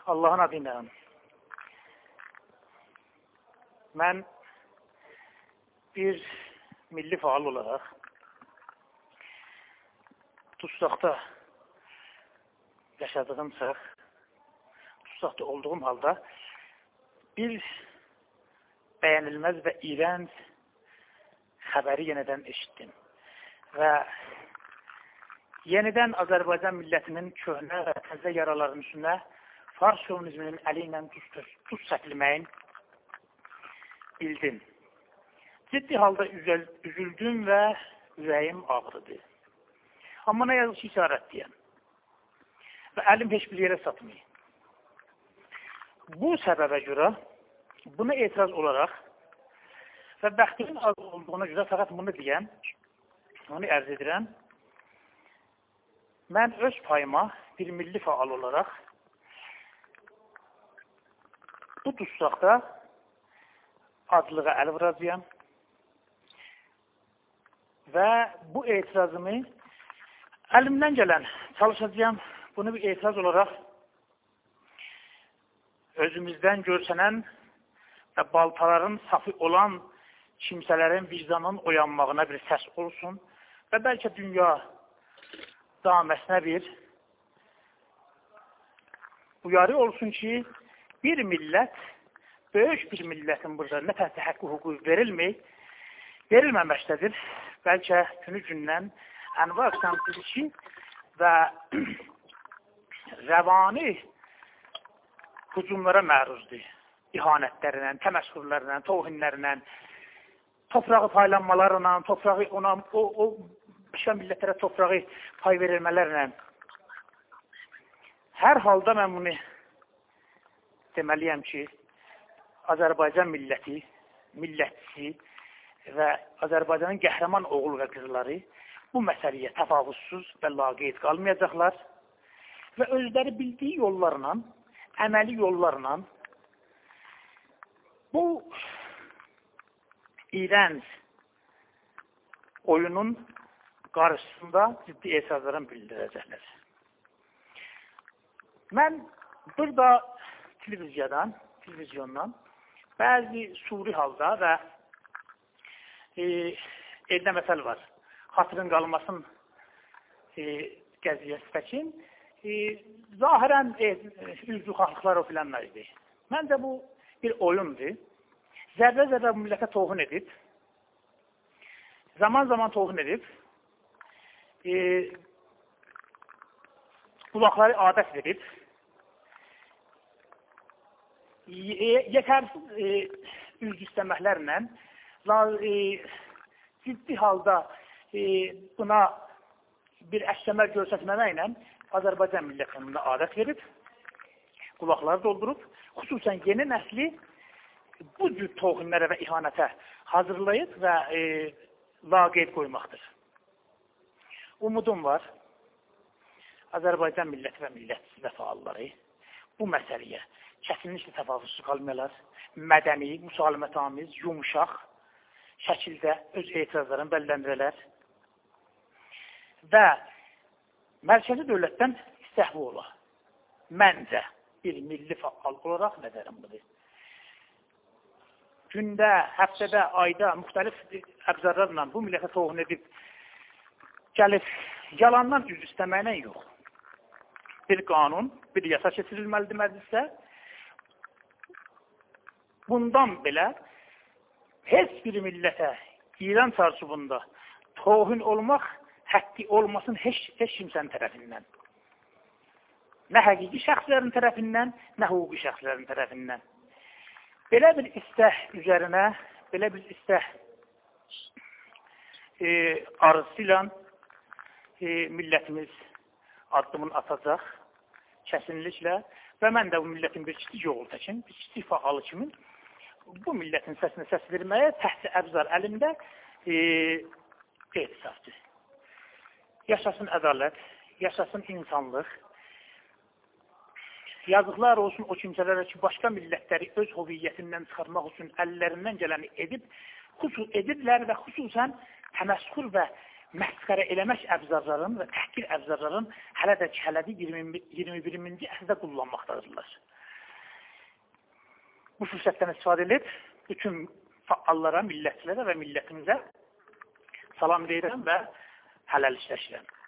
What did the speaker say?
Allahın adıyla. Mən bir milli faal olaraq Tustaqda yaşadığım çağ, Tustaqda olduğum halda bir bəyənilməz və iğrənc xəbəri yenidən eşitdim. Və yenidən Azərbaycan millətinin köhnə və təzə yaraların üstünə Fars şovinizminin əli ilə tuz çəkilməyin bildim. Ciddi halda üzüldüm və ürəyim ağrıdı. Amma nə yazıq ki, işarətliyəm. Və əlim heç bir yerə satmayın. Bu səbəbə görə, buna etiraz olaraq və bəxtimin az olduğuna görə fəqət bunu deyəm, onu ərz edirəm. Mən öz payıma bir milli faal olaraq bu Tustaqda acılığa əl vuracağım və bu etirazımı əlimdən gələn çalışacağım. Bunu bir etiraz olaraq özümüzdən görsənən və baltaların safı olan kimsələrin vicdanının oyanmağına bir səs olsun və bəlkə dünya daməsinə bir uyarı olsun ki, bir millət, böyük bir millətin burada nə tərsi haqqı hüquq verilməməkdədir. Bəlkə günü gündən ənva əqsamsızlığı və rəvani hücumlara məruzdur. İhanətlərindən, təməşğullərindən, tohinlərindən, toprağı paylanmalarından, toprağı o pişən millətlərə toprağı pay verilmələrlə. Hər halda mən bunu deməliyəm ki, Azərbaycan milləti, millətçisi və Azərbaycanın qəhrəman oğul və qızları bu məsələyə təfavüzsüz və laqeyd qalmayacaqlar və özləri bildiyi yollarla, əməli yollarla bu iğrənc oyunun qarşısında ciddi etirazlarını bildirəcəklər. Mən burada televizyondan bəzi suri halda və eldə məsəl var. Xatırın qalmasın qəziyyəsindəki zahirən üzvüxanlıqlar o filanlar idi. Məncə bu bir oyundur. Zərrə-zərrə bu millətə tohun edib, zaman-zaman tohun edib, qulaqları adət verib, yetərsiz üzv istəməklərlə ciddi halda buna bir əksəmər göstərməklə Azərbaycan millətinin adət verib, qulaqları doldurub, xüsusən yeni nəsli bu cür toxinlərə və ihanətə hazırlayıb və laqeyd qoymaqdır. Umudum var, Azərbaycan milləti və millətçisi və faalları bu məsələyə kəsinliklə təfavüzsüz qalmayalar, mədəni, müsalimətamiz, yumuşaq şəkildə öz etirazlarını bəlirləndirələr və mərkəzi dövlətdən istəhvi ola. Məncə bir milli faal olaraq nəzərim budur. Gündə, həftədə, ayda müxtəlif əbzarlarla bu millətə tohun edib gəlib yalandan üz istəməklə yox. Bir qanun, bir yasa keçirilməlidir məclisdə. Bundan belə heç bir millətə İran çarşubunda tohun olmaq həqqi olmasın heç kimsənin tərəfindən. Nə həqiqi şəxslərin tərəfindən, nə hüquqi şəxslərin tərəfindən. Belə bir istəh üzərinə, belə bir istəh arzusu millətimiz addımını atacaq kəsinliklə və mən də bu millətin bir kiçik oğul təkin, bir kiçik faalı kimi bu millətin səsinə səs verməyə təhti əbzar əlimdə etisafdır. Yaşasın ədalət, yaşasın insanlıq. Yazıqlar olsun o kimsələrə ki, başqa millətləri öz hoviyyətindən çıxarmaq üçün əllərindən gələni edirlər və xüsusən təməşğul və məsxərə eləmək əbzarların və təhqir əbzarların hələ də 21-ci əsrdə kullanmaqdadırlar. bu fürsətdən istifadə edib bütün fəallara, millətçilərə və millətimizə salam deyirəm və hələl işləşirəm.